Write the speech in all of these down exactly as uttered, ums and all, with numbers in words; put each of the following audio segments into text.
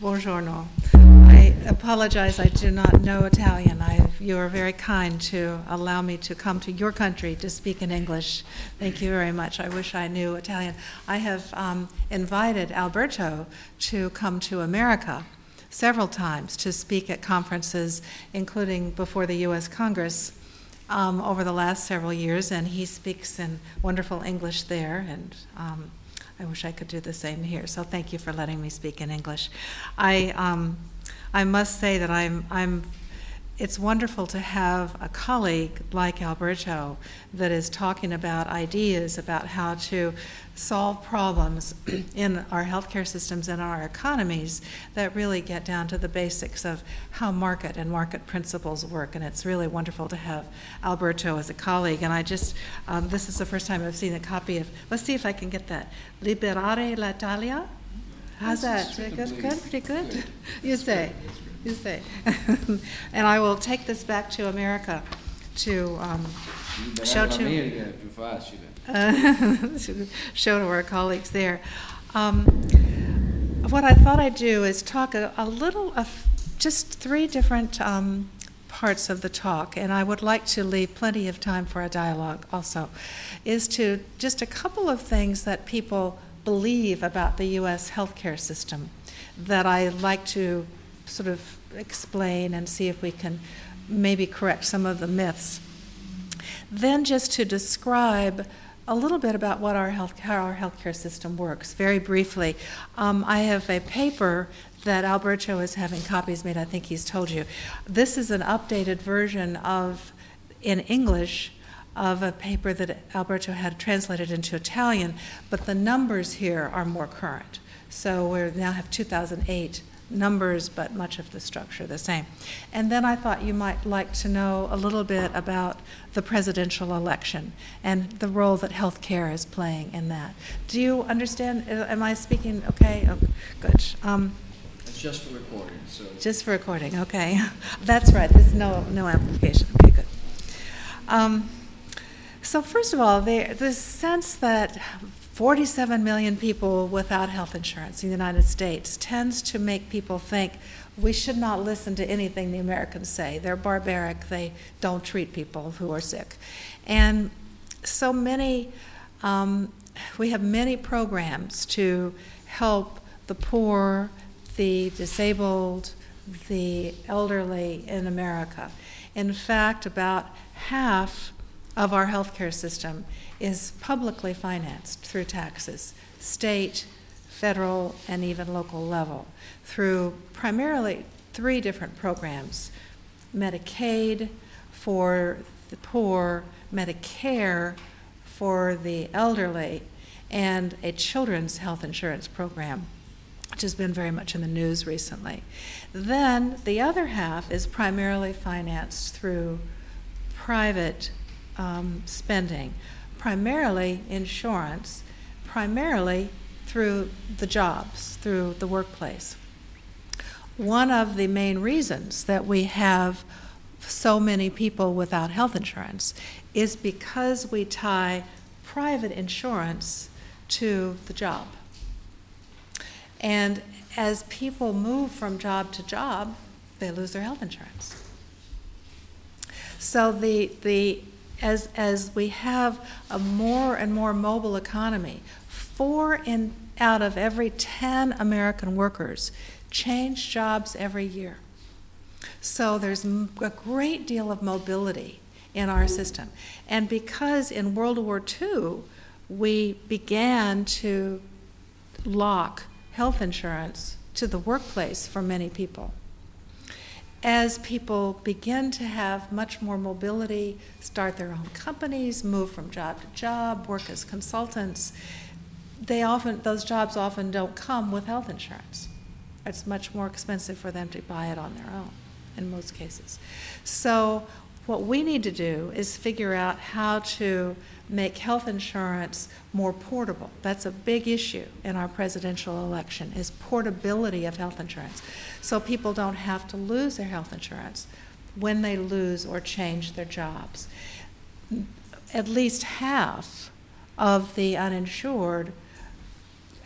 Buongiorno. I apologize, I do not know Italian. I, you are very kind to allow me to come to your country to speak in English. Thank you very much. I wish I knew Italian. I have um, invited Alberto to come to America several times to speak at conferences, including before the U S Congress, um, over the last several years, and he speaks in wonderful English there, and um, I wish I could do the same here. So thank you for letting me speak in English. I um, I must say that I'm I'm. It's wonderful to have a colleague like Alberto that is talking about ideas about how to solve problems in our healthcare systems and our economies that really get down to the basics of how market and market principles work. And it's really wonderful to have Alberto as a colleague. And I just, um, this is the first time I've seen a copy of, let's see if I can get that, Liberare l'Italia. How's that? Good, good, pretty good? You say. You say. And I will take this back to America to um, show to uh, show to our colleagues there. Um, what I thought I'd do is talk a, a little of just three different um, parts of the talk, and I would like to leave plenty of time for a dialogue also, is to just a couple of things that people believe about the U S healthcare system that I like to sort of explain and see if we can maybe correct some of the myths. Then just to describe a little bit about what our health, how our healthcare system works, very briefly. Um, I have a paper that Alberto is having copies made, I think he's told you. This is an updated version of, in English, of a paper that Alberto had translated into Italian, but the numbers here are more current. So we now have two thousand eight numbers, but much of the structure the same. And then I thought you might like to know a little bit about the presidential election and the role that healthcare is playing in that. Do you understand? Am I speaking okay? Oh, good. Um, it's just for recording. So. Just for recording, okay. That's right, there's no, no amplification. Okay, good. Um, so first of all, there, the sense that forty-seven million people without health insurance in the United States tends to make people think we should not listen to anything the Americans say. They're barbaric. They don't treat people who are sick. And so many, um, we have many programs to help the poor, the disabled, the elderly in America. In fact, about half of our healthcare system is publicly financed through taxes, state, federal, and even local level, through primarily three different programs: Medicaid for the poor, Medicare for the elderly, and a children's health insurance program, which has been very much in the news recently. Then the other half is primarily financed through private um, spending, primarily insurance, primarily through the jobs, through the workplace. One of the main reasons that we have so many people without health insurance is because we tie private insurance to the job. And as people move from job to job, they lose their health insurance. So the the As, as we have a more and more mobile economy, four in, out of every ten American workers change jobs every year. So there's a great deal of mobility in our system. And because in World War Two, we began to lock health insurance to the workplace for many people, as people begin to have much more mobility, start their own companies, move from job to job, work as consultants, they often, those jobs often don't come with health insurance. It's much more expensive for them to buy it on their own in most cases. So what we need to do is figure out how to make health insurance more portable. That's a big issue in our presidential election, is portability of health insurance. So people don't have to lose their health insurance when they lose or change their jobs. At least half of the uninsured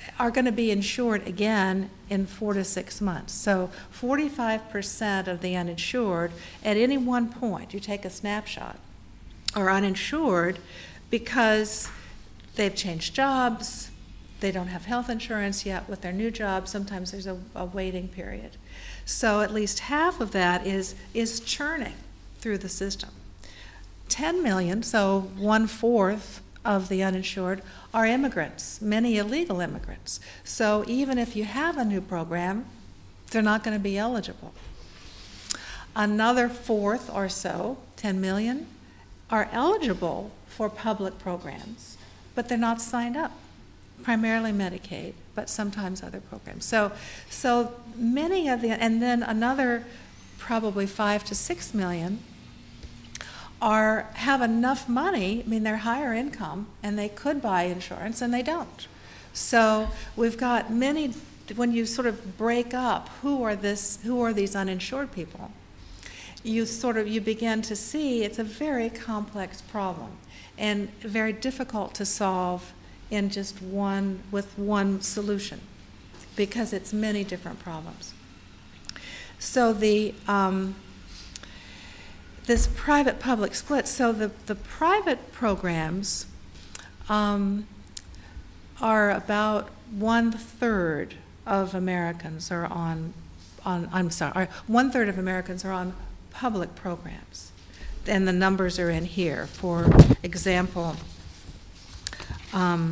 are going to be insured again in four to six months. So forty-five percent of the uninsured at any one point, you take a snapshot, are uninsured because they've changed jobs, they don't have health insurance yet with their new job, sometimes there's a, a waiting period. So at least half of that is, is churning through the system. ten million, so one-fourth of the uninsured, are immigrants, many illegal immigrants. So even if you have a new program, they're not going to be eligible. Another fourth or so, ten million, are eligible for public programs, but they're not signed up, primarily Medicaid, but sometimes other programs. So, so many of the, and then another probably five to six million are have enough money, I mean they're higher income and they could buy insurance and they don't. So we've got many, when you sort of break up who are this who are these uninsured people, you sort of you begin to see it's a very complex problem and very difficult to solve in just one with one solution because it's many different problems. So the um, this private-public split, so the, the private programs um, are about one-third of Americans are on, on I'm sorry, one-third of Americans are on public programs. And the numbers are in here. For example, um,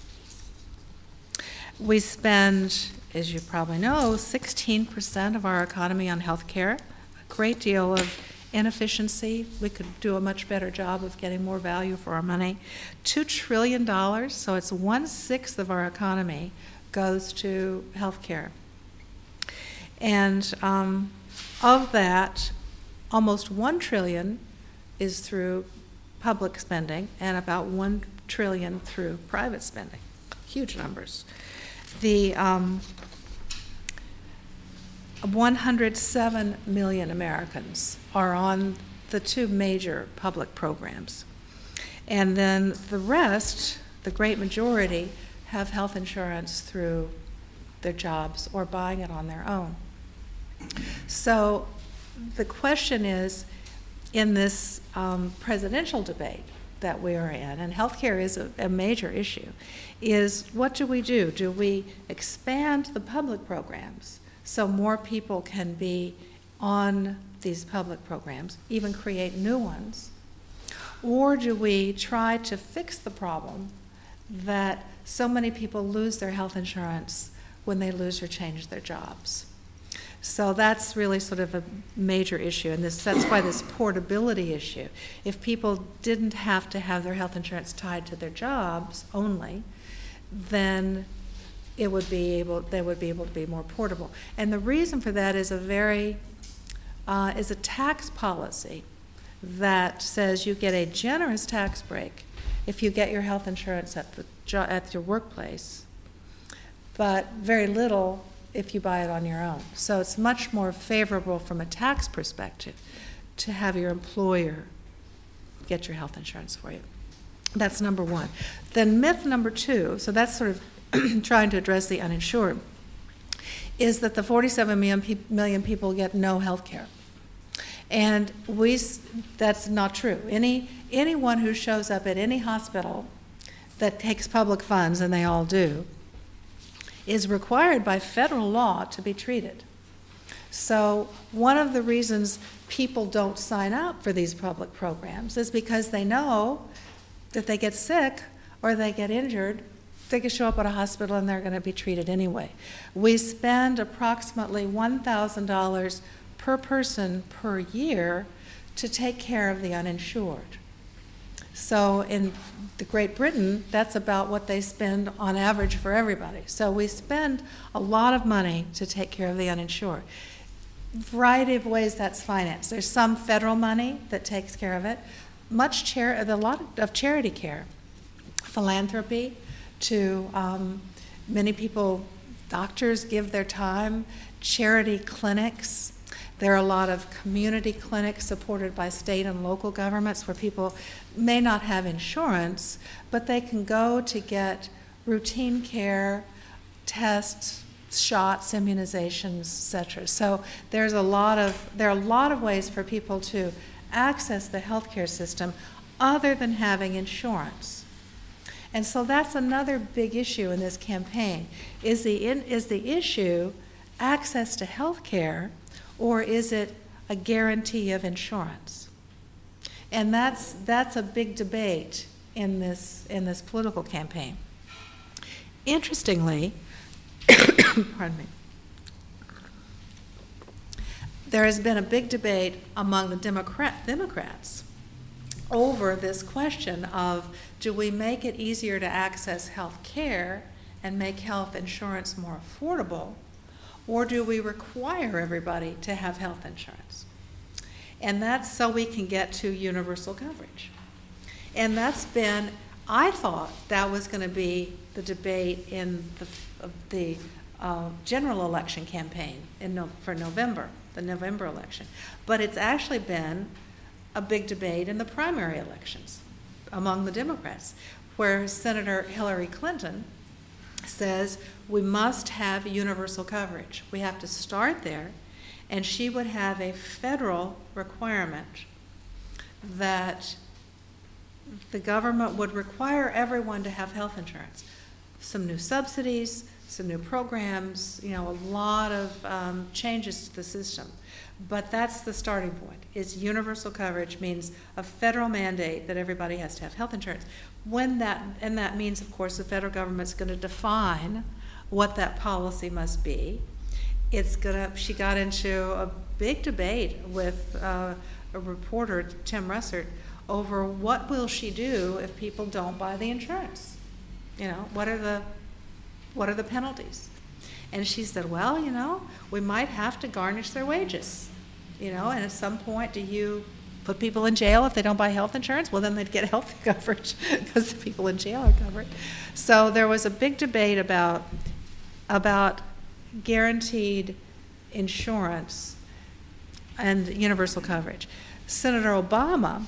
we spend, as you probably know, sixteen percent of our economy on health care, a great deal of inefficiency. We could do a much better job of getting more value for our money. Two trillion dollars, so it's one-sixth of our economy goes to health care. And um, of that, almost one trillion dollars is through public spending and about one trillion dollars through private spending. Huge numbers. The um, one hundred seven million Americans are on the two major public programs. And then the rest, the great majority, have health insurance through their jobs or buying it on their own. So the question is, in this um, presidential debate that we are in, and healthcare is a, a major issue, is what do we do? Do we expand the public programs so more people can be on these public programs, even create new ones? Or do we try to fix the problem that so many people lose their health insurance when they lose or change their jobs? So that's really sort of a major issue, and this, that's why this portability issue. If people didn't have to have their health insurance tied to their jobs only, then it would be able, they would be able to be more portable. And the reason for that is a very, uh, is a tax policy that says you get a generous tax break if you get your health insurance at the jo- at your workplace, but very little if you buy it on your own. So it's much more favorable from a tax perspective to have your employer get your health insurance for you. That's number one. Then myth number two, so that's sort of trying to address the uninsured, is that the forty-seven million people get no health care. And we, that's not true. Any, anyone who shows up at any hospital that takes public funds, and they all do, is required by federal law to be treated. So one of the reasons people don't sign up for these public programs is because they know that they get sick or they get injured, they can show up at a hospital and they're going to be treated anyway. We spend approximately one thousand dollars per person per year to take care of the uninsured. So in the Great Britain, that's about what they spend on average for everybody. So we spend a lot of money to take care of the uninsured. Variety of ways that's financed. There's some federal money that takes care of it. Much char- a lot of charity care, philanthropy. To um, many people, doctors give their time. Charity clinics. There are a lot of community clinics supported by state and local governments where people may not have insurance, but they can go to get routine care tests, shots, immunizations, et cetera. So there's a lot of, there are a lot of ways for people to access the healthcare system other than having insurance. And so that's another big issue in this campaign. Is the, in, is the issue access to health care, or is it a guarantee of insurance? And that's, that's a big debate in this, in this political campaign. Interestingly, pardon me, there has been a big debate among the Democrat, Democrats over this question of, do we make it easier to access health care and make health insurance more affordable, or do we require everybody to have health insurance? And that's so we can get to universal coverage. And that's been, I thought that was going to be the debate in the, the uh, general election campaign in no, for November, the November election. But it's actually been a big debate in the primary elections among the Democrats, where Senator Hillary Clinton says we must have universal coverage. We have to start there, and she would have a federal requirement that the government would require everyone to have health insurance. Some new subsidies, some new programs, you know, a lot of um, changes to the system. But that's the starting point, is universal coverage means a federal mandate that everybody has to have health insurance. When that, and that means, of course, the federal government's going to define what that policy must be. It's gonna, she got into a big debate with uh, a reporter, Tim Russert, over what will she do if people don't buy the insurance? You know, what are the, what are the penalties? And she said, well, you know, we might have to garnish their wages. You know, and at some point, do you put people in jail if they don't buy health insurance? Well, then they'd get health coverage because the people in jail are covered. So there was a big debate about, about guaranteed insurance and universal coverage. Senator Obama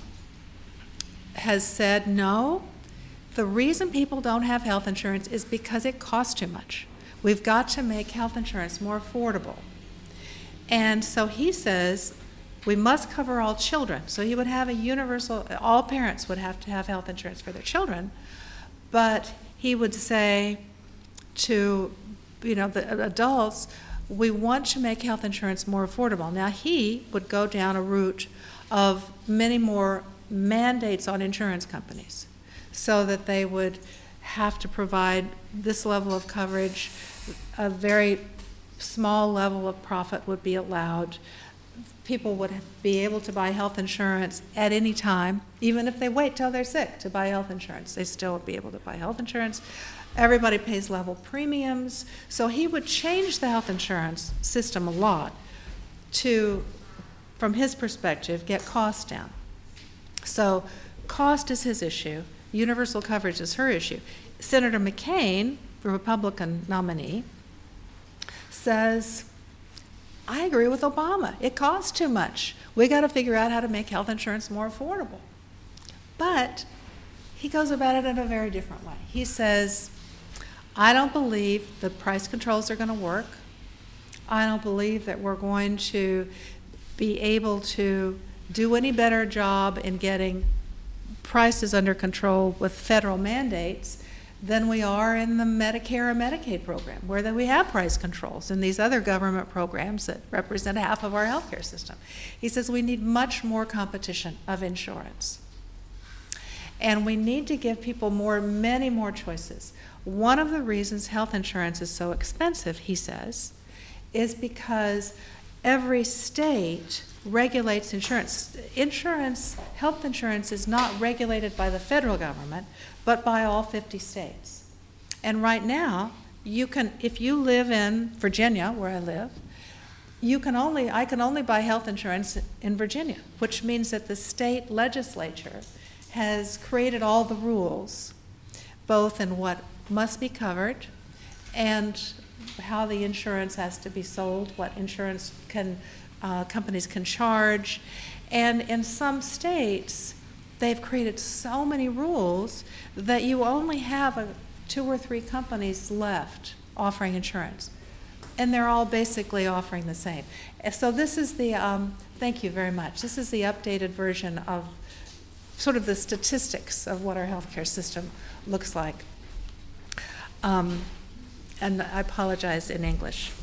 has said, no, the reason people don't have health insurance is because it costs too much. We've got to make health insurance more affordable. And so he says we must cover all children. So he would have a universal, all parents would have to have health insurance for their children, but he would say to, you know, the adults, we want to make health insurance more affordable. Now he would go down a route of many more mandates on insurance companies so that they would have to provide this level of coverage. A very small level of profit would be allowed. People would be able to buy health insurance at any time, even if they wait till they're sick to buy health insurance. They still would be able to buy health insurance. Everybody pays level premiums. So he would change the health insurance system a lot to, from his perspective, get costs down. So cost is his issue. Universal coverage is her issue. Senator McCain, the Republican nominee, says, I agree with Obama. It costs too much. We got to figure out how to make health insurance more affordable. But he goes about it in a very different way. He says, I don't believe the price controls are going to work. I don't believe that we're going to be able to do any better job in getting prices under control with federal mandates than we are in the Medicare or Medicaid program, where that we have price controls and these other government programs that represent half of our healthcare system. He says we need much more competition of insurance. And we need to give people more, many more choices. One of the reasons health insurance is so expensive, he says, is because every state regulates insurance. Insurance, health insurance is not regulated by the federal government, but by all fifty states. And right now, you can, if you live in Virginia, where I live, you can only, I can only buy health insurance in Virginia, which means that the state legislature has created all the rules, both in what must be covered and how the insurance has to be sold, what insurance can uh, companies can charge. And in some states, they've created so many rules that you only have a, two or three companies left offering insurance. And they're all basically offering the same. So this is the, um, thank you very much, this is the updated version of sort of the statistics of what our healthcare system looks like. Um, and I apologize in English.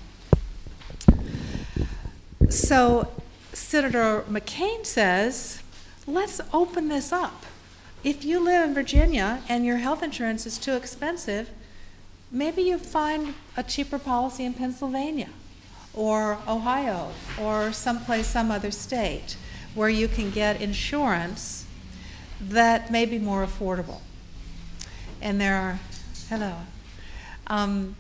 So Senator McCain says, let's open this up. If you live in Virginia and your health insurance is too expensive, maybe you find a cheaper policy in Pennsylvania or Ohio or someplace, some other state where you can get insurance that may be more affordable. And there are, hello. Um,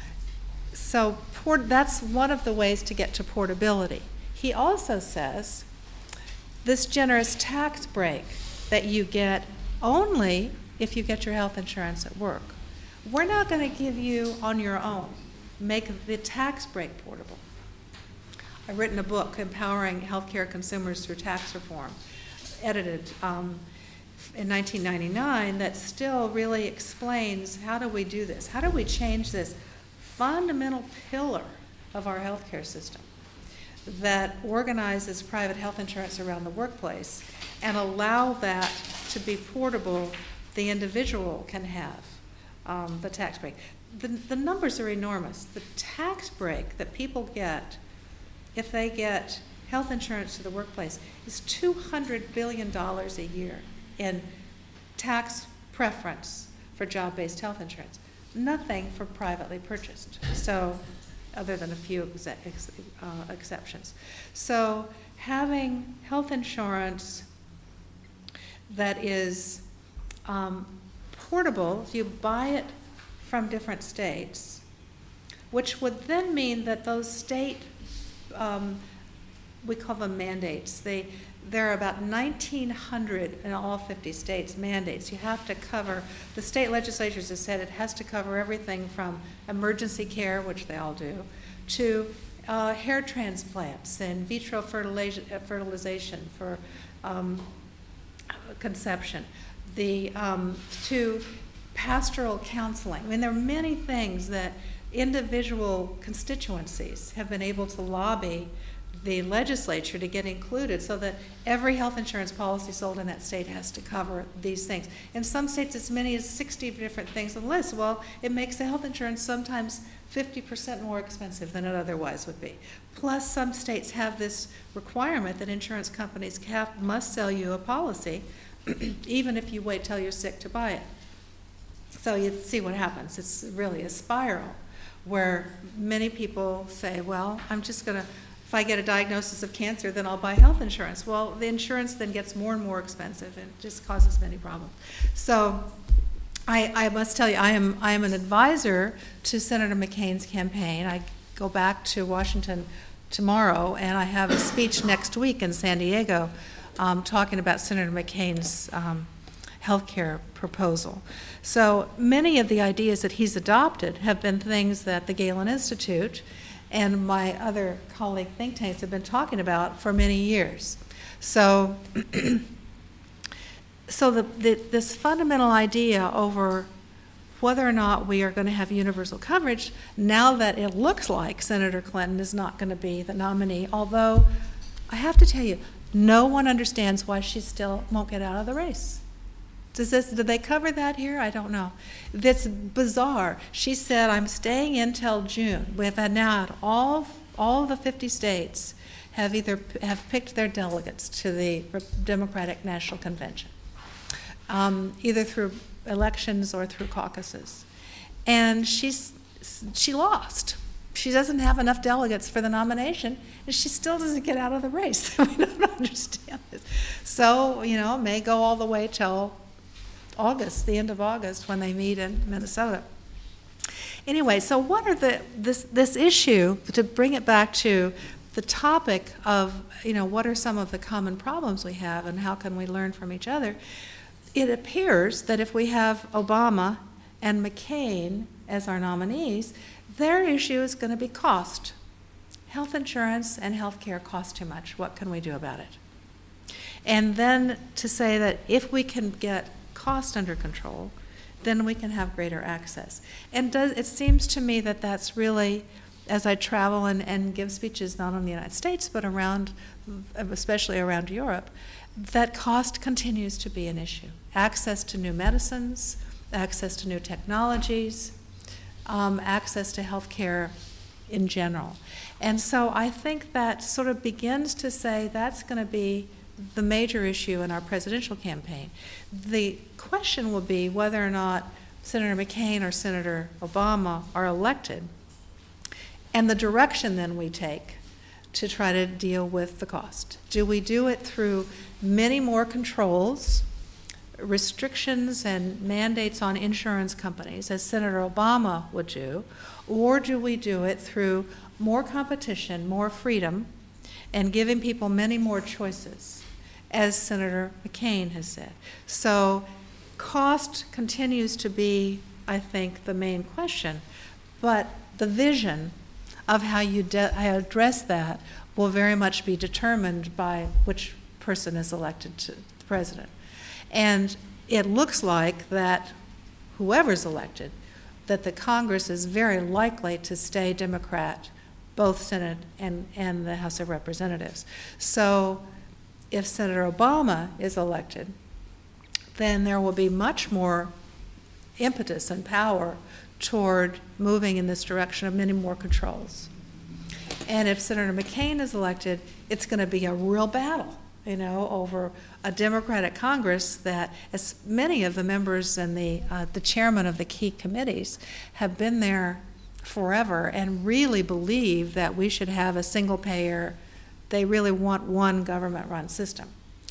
so port, that's one of the ways to get to portability. He also says this generous tax break that you get only if you get your health insurance at work. We're not going to give you on your own. Make the tax break portable. I've written a book, Empowering Healthcare Consumers Through Tax Reform, edited um, in nineteen ninety-nine, that still really explains how do we do this? How do we change this fundamental pillar of our healthcare system that organizes private health insurance around the workplace and allow that to be portable, the individual can have um, the tax break. The, the numbers are enormous. The tax break that people get if they get health insurance to the workplace is two hundred billion dollars a year in tax preference for job-based health insurance. Nothing for privately purchased, so other than a few ex ex uh, exceptions. So having health insurance that is um, portable, if you buy it from different states, which would then mean that those state, um, we call them mandates, they, there are about nineteen hundred in all fifty states mandates. You have to cover, the state legislatures have said it has to cover everything from emergency care, which they all do, to uh, hair transplants and vitro fertilization for um, conception, the, um, to pastoral counseling. I mean, there are many things that individual constituencies have been able to lobby the legislature to get included so that every health insurance policy sold in that state has to cover these things. In some states, as many as sixty different things on the list. Well, it makes the health insurance sometimes fifty percent more expensive than it otherwise would be. Plus, some states have this requirement that insurance companies have, must sell you a policy even if you wait till you're sick to buy it. So you see what happens. It's really a spiral where many people say, well, I'm just going to, if I get a diagnosis of cancer, then I'll buy health insurance. Well, the insurance then gets more and more expensive and just causes many problems. So I, I must tell you, I am, I am an advisor to Senator McCain's campaign. I go back to Washington tomorrow, and I have a speech next week in San Diego um, talking about Senator McCain's um, health care proposal. So many of the ideas that he's adopted have been things that the Galen Institute and my other colleague think tanks have been talking about for many years. So, so the, the, this fundamental idea over whether or not we are going to have universal coverage, now that it looks like Senator Clinton is not going to be the nominee, although I have to tell you, no one understands why she still won't get out of the race. Does this, did they cover that here? I don't know. That's bizarre. She said, I'm staying in till June. We've had now all, all the fifty states have either have picked their delegates to the Democratic National Convention, um, either through elections or through caucuses. And she's, she lost. She doesn't have enough delegates for the nomination, and she still doesn't get out of the race. We don't understand this. So, you know, it may go all the way till August, the end of August, when they meet in Minnesota. Anyway, so what are the, this, this issue, to bring it back to the topic of, you know, what are some of the common problems we have and how can we learn from each other? It appears that if we have Obama and McCain as our nominees, their issue is going to be cost. Health insurance and health care cost too much. What can we do about it? And then to say that if we can get cost under control, then we can have greater access. And does, it seems to me that that's really, as I travel and, and give speeches not only in the United States, but around, especially around Europe, that cost continues to be an issue. Access to new medicines, access to new technologies, um, access to health care in general. And so I think that sort of begins to say that's going to be the major issue in our presidential campaign. The question will be whether or not Senator McCain or Senator Obama are elected, and the direction then we take to try to deal with the cost. Do we do it through many more controls, restrictions and mandates on insurance companies, as Senator Obama would do, or do we do it through more competition, more freedom, and giving people many more choices, as Senator McCain has said? So cost continues to be, I think, the main question, but the vision of how you de- how you address that will very much be determined by which person is elected to the president. And it looks like that whoever's elected, that the Congress is very likely to stay Democrat, both Senate and, and the House of Representatives. So if Senator Obama is elected, then there will be much more impetus and power toward moving in this direction of many more controls. And if Senator McCain is elected, it's going to be a real battle, you know, over a Democratic Congress that, as many of the members and the uh, the chairman of the key committees have been there forever and really believe that we should have a single payer. They really want one government-run system.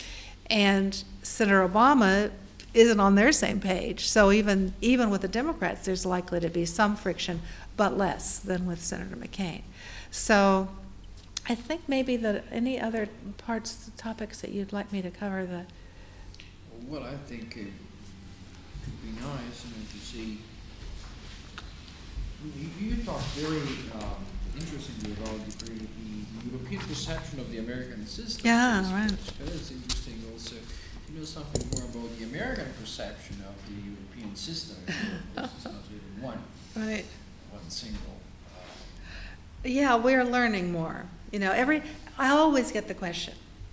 And Senator Obama isn't on their same page. So even even with the Democrats, there's likely to be some friction, but less than with Senator McCain. So I think maybe that any other parts, topics that you'd like me to cover that. Well, I think it could be nice, you know, to see. You, you talked very um, interestingly about the, the European perception of the American system. Yeah, so right. It's interesting also to know something more about the American perception of the European system. This is not even one, Right. one single. Yeah, we're learning more. You know, every I always get the question.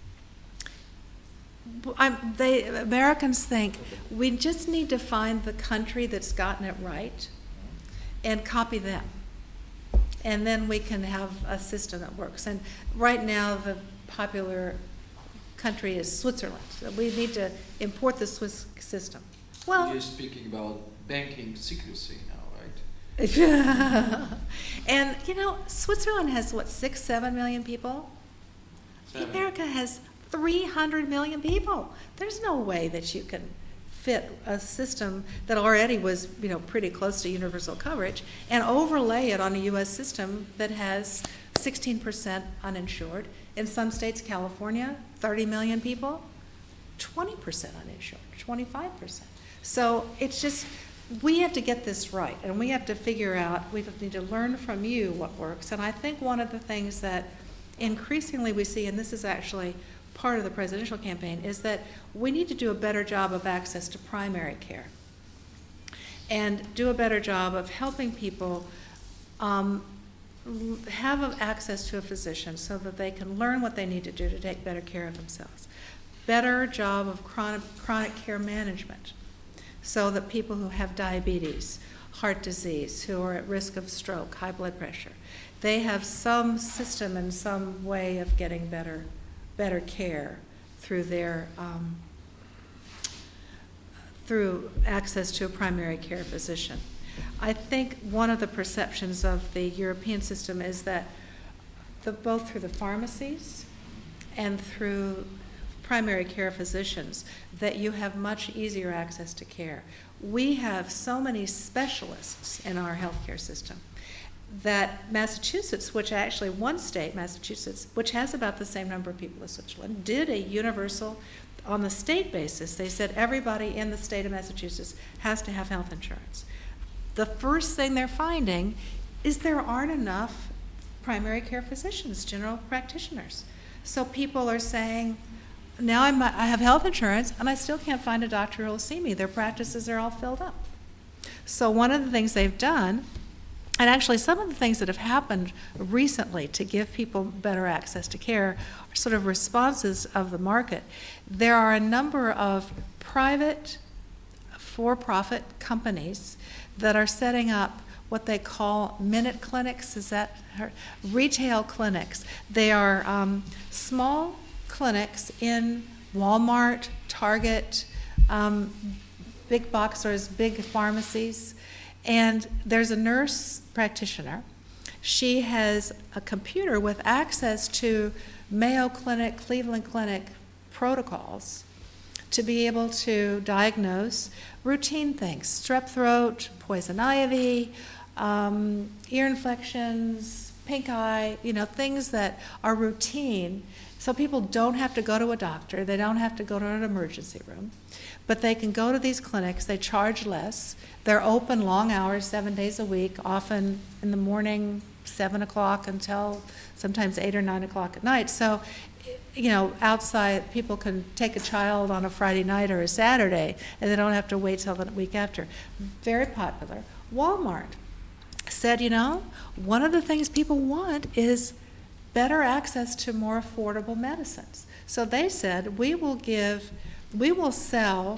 I'm, they Americans think we just need to find the country that's gotten it right and copy them, and then we can have a system that works. And right now, the popular country is Switzerland. So we need to import the Swiss system. Well, you're speaking about banking secrecy now. And, you know, Switzerland has, what, six, seven million people? Seven. America has three hundred million people. There's no way that you can fit a system that already was, you know, pretty close to universal coverage and overlay it on a U S system that has sixteen percent uninsured. In some states, California, thirty million people, twenty percent uninsured, twenty-five percent. So it's just, we have to get this right, and we have to figure out, we need to learn from you what works. And I think one of the things that increasingly we see, and this is actually part of the presidential campaign, is that we need to do a better job of access to primary care and do a better job of helping people um, have access to a physician so that they can learn what they need to do to take better care of themselves. Better job of chronic, chronic care management, so that people who have diabetes, heart disease, who are at risk of stroke, high blood pressure, they have some system and some way of getting better, better care through their um, through access to a primary care physician. I think one of the perceptions of the European system is that the, both through the pharmacies and through primary care physicians, that you have much easier access to care. We have so many specialists in our healthcare system that Massachusetts, which actually one state, Massachusetts, which has about the same number of people as Switzerland, did a universal, on the state basis, they said everybody in the state of Massachusetts has to have health insurance. The first thing they're finding is there aren't enough primary care physicians, general practitioners. So people are saying, now I'm, I have health insurance, and I still can't find a doctor who will see me. Their practices are all filled up. So one of the things they've done, and actually some of the things that have happened recently to give people better access to care are sort of responses of the market. There are a number of private for-profit companies that are setting up what they call minute clinics. Is that her? Retail clinics. They are um, small clinics in Walmart, Target, um, big boxers, big pharmacies, and there's a nurse practitioner. She has a computer with access to Mayo Clinic, Cleveland Clinic protocols to be able to diagnose routine things, strep throat, poison ivy, um, ear infections, pink eye, you know, things that are routine. So people don't have to go to a doctor, they don't have to go to an emergency room, but they can go to these clinics, they charge less, they're open long hours, seven days a week, often in the morning, seven o'clock until sometimes eight or nine o'clock at night. So, you know, outside, people can take a child on a Friday night or a Saturday, and they don't have to wait till the week after. Very popular. Walmart said, you know, one of the things people want is better access to more affordable medicines. So they said, we will give, we will sell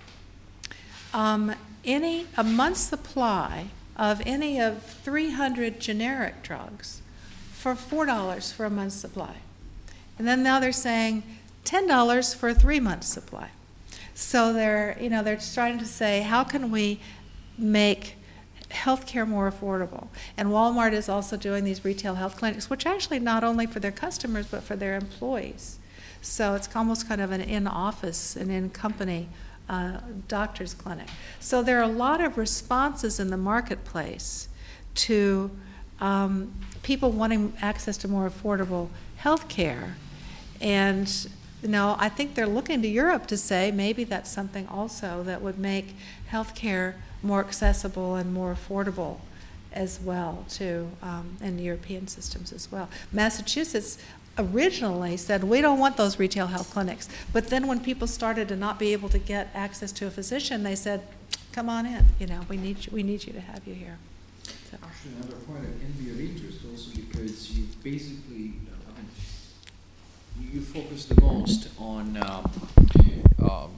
um, any, a month's supply of any of three hundred generic drugs for four dollars for a month's supply. And then now they're saying ten dollars for a three-month supply. So they're, you know, they're trying to say, how can we make healthcare more affordable? And Walmart is also doing these retail health clinics, which actually not only for their customers, but for their employees. So it's almost kind of an in-office, an in-company uh, doctor's clinic. So there are a lot of responses in the marketplace to um, people wanting access to more affordable health care. And, you know, I think they're looking to Europe to say maybe that's something also that would make health care more accessible and more affordable as well, too, um, in European systems as well. Massachusetts originally said, we don't want those retail health clinics. But then when people started to not be able to get access to a physician, they said, come on in, you know, we need you, we need you to have you here. So. Actually, another point that can be of interest also because you basically, uh, you, you focus the most on um, um,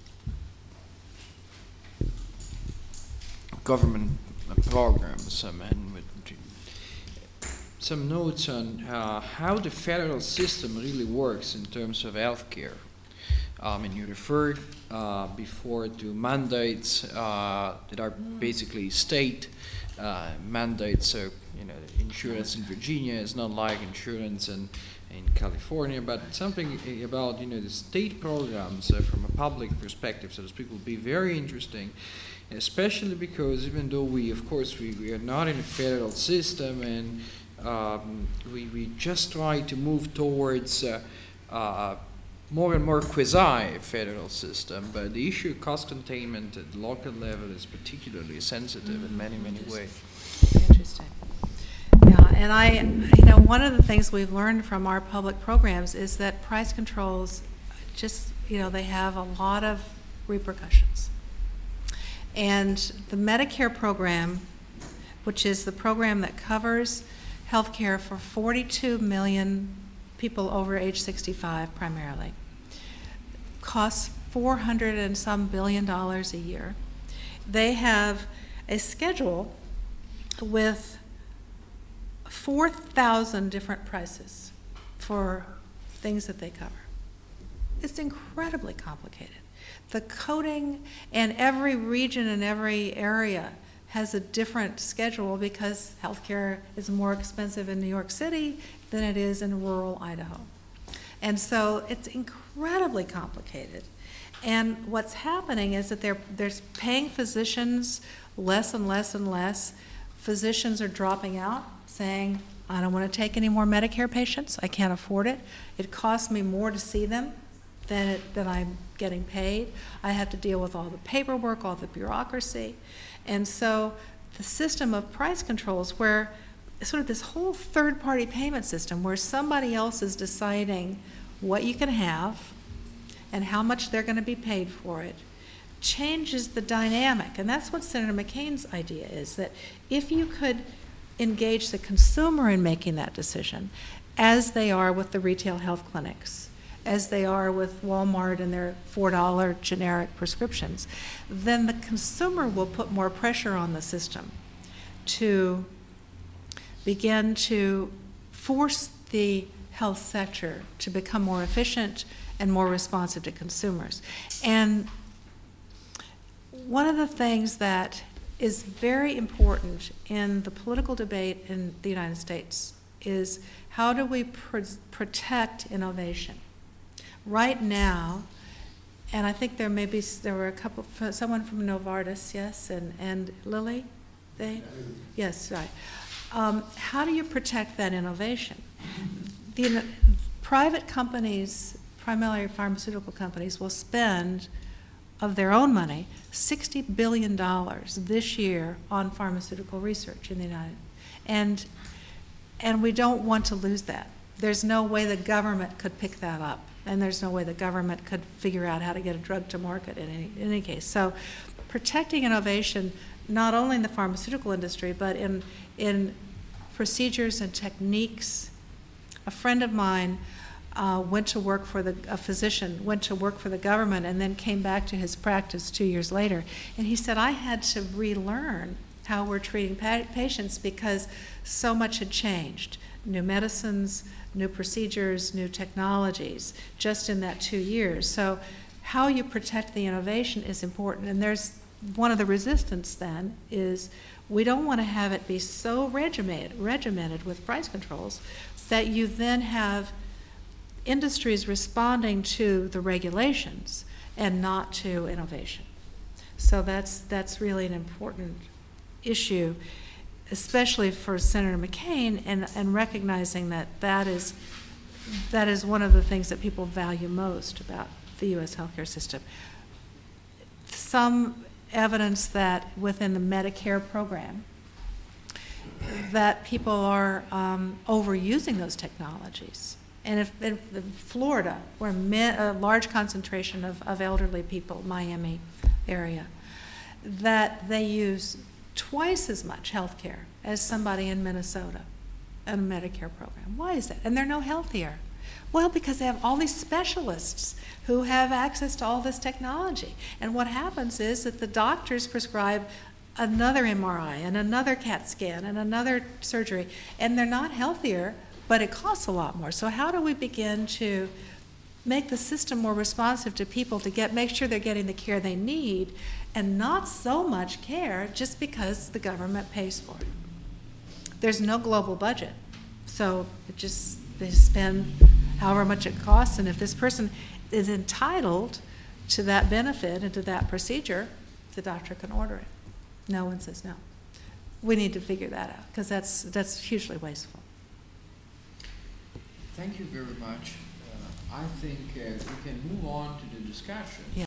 government programs um, and with some notes on uh, how the federal system really works in terms of healthcare. Um, and you referred uh, before to mandates uh, that are basically state uh, mandates. So, you know, insurance in Virginia is not like insurance in, in California, but something about, you know, the state programs uh, from a public perspective, so to speak, will be very interesting. Especially because even though we, of course, we, we are not in a federal system and um, we, we just try to move towards uh, uh, more and more quasi-federal system, but the issue of cost containment at the local level is particularly sensitive mm-hmm. in many, many ways. Interesting. Yeah, and I, you know, one of the things we've learned from our public programs is that price controls just, you know, they have a lot of repercussions. And the Medicare program, which is the program that covers health care for forty-two million people over age sixty-five primarily, costs four hundred and some billion dollars a year. They have a schedule with four thousand different prices for things that they cover. It's incredibly complicated. The coding, and every region and every area has a different schedule because healthcare is more expensive in New York City than it is in rural Idaho. And so it's incredibly complicated. And what's happening is that they're, they're paying physicians less and less and less. Physicians are dropping out, saying, I don't want to take any more Medicare patients. I can't afford it. It costs me more to see them than, it, than I'm getting paid. I have to deal with all the paperwork, all the bureaucracy. And so the system of price controls, where sort of this whole third-party payment system where somebody else is deciding what you can have and how much they're going to be paid for it, changes the dynamic. And that's what Senator McCain's idea is, that if you could engage the consumer in making that decision, as they are with the retail health clinics, as they are with Walmart and their four dollar generic prescriptions, then the consumer will put more pressure on the system to begin to force the health sector to become more efficient and more responsive to consumers. And one of the things that is very important in the political debate in the United States is, how do we pr protect innovation? Right now, and I think there may be, there were a couple, someone from Novartis, yes, and, and Lilly, they? Yes, right. Um, how do you protect that innovation? The private companies, primarily pharmaceutical companies, will spend of their own money sixty billion dollars this year on pharmaceutical research in the United States. And, and we don't want to lose that. There's no way the government could pick that up, and there's no way the government could figure out how to get a drug to market in any, in any case. So protecting innovation, not only in the pharmaceutical industry, but in, in procedures and techniques. A friend of mine uh, went to work for the, a physician, went to work for the government, and then came back to his practice two years later. And he said, I had to relearn how we're treating pa patients because so much had changed. New medicines, new procedures, new technologies, just in that two years. So how you protect the innovation is important. And there's one of the resistance then is, we don't want to have it be so regimented, regimented with price controls that you then have industries responding to the regulations and not to innovation. So that's, that's really an important issue, especially for Senator McCain, and, and recognizing that that is, that is one of the things that people value most about the U S healthcare system. Some evidence that within the Medicare program, that people are um, overusing those technologies. And if, if Florida, where a large concentration of, of elderly people, Miami area, that they use twice as much health care as somebody in Minnesota in a Medicare program. Why is that? And they're no healthier. Well, because they have all these specialists who have access to all this technology. And what happens is that the doctors prescribe another M R I and another CAT scan and another surgery, and they're not healthier, but it costs a lot more. So how do we begin to make the system more responsive to people, to get make sure they're getting the care they need, and not so much care just because the government pays for it? There's no global budget, so it just, they spend however much it costs, and if this person is entitled to that benefit and to that procedure, the doctor can order it. No one says no. We need to figure that out, because that's, that's hugely wasteful. Thank you very much. Uh, I think uh, we can move on to the discussion. Yeah.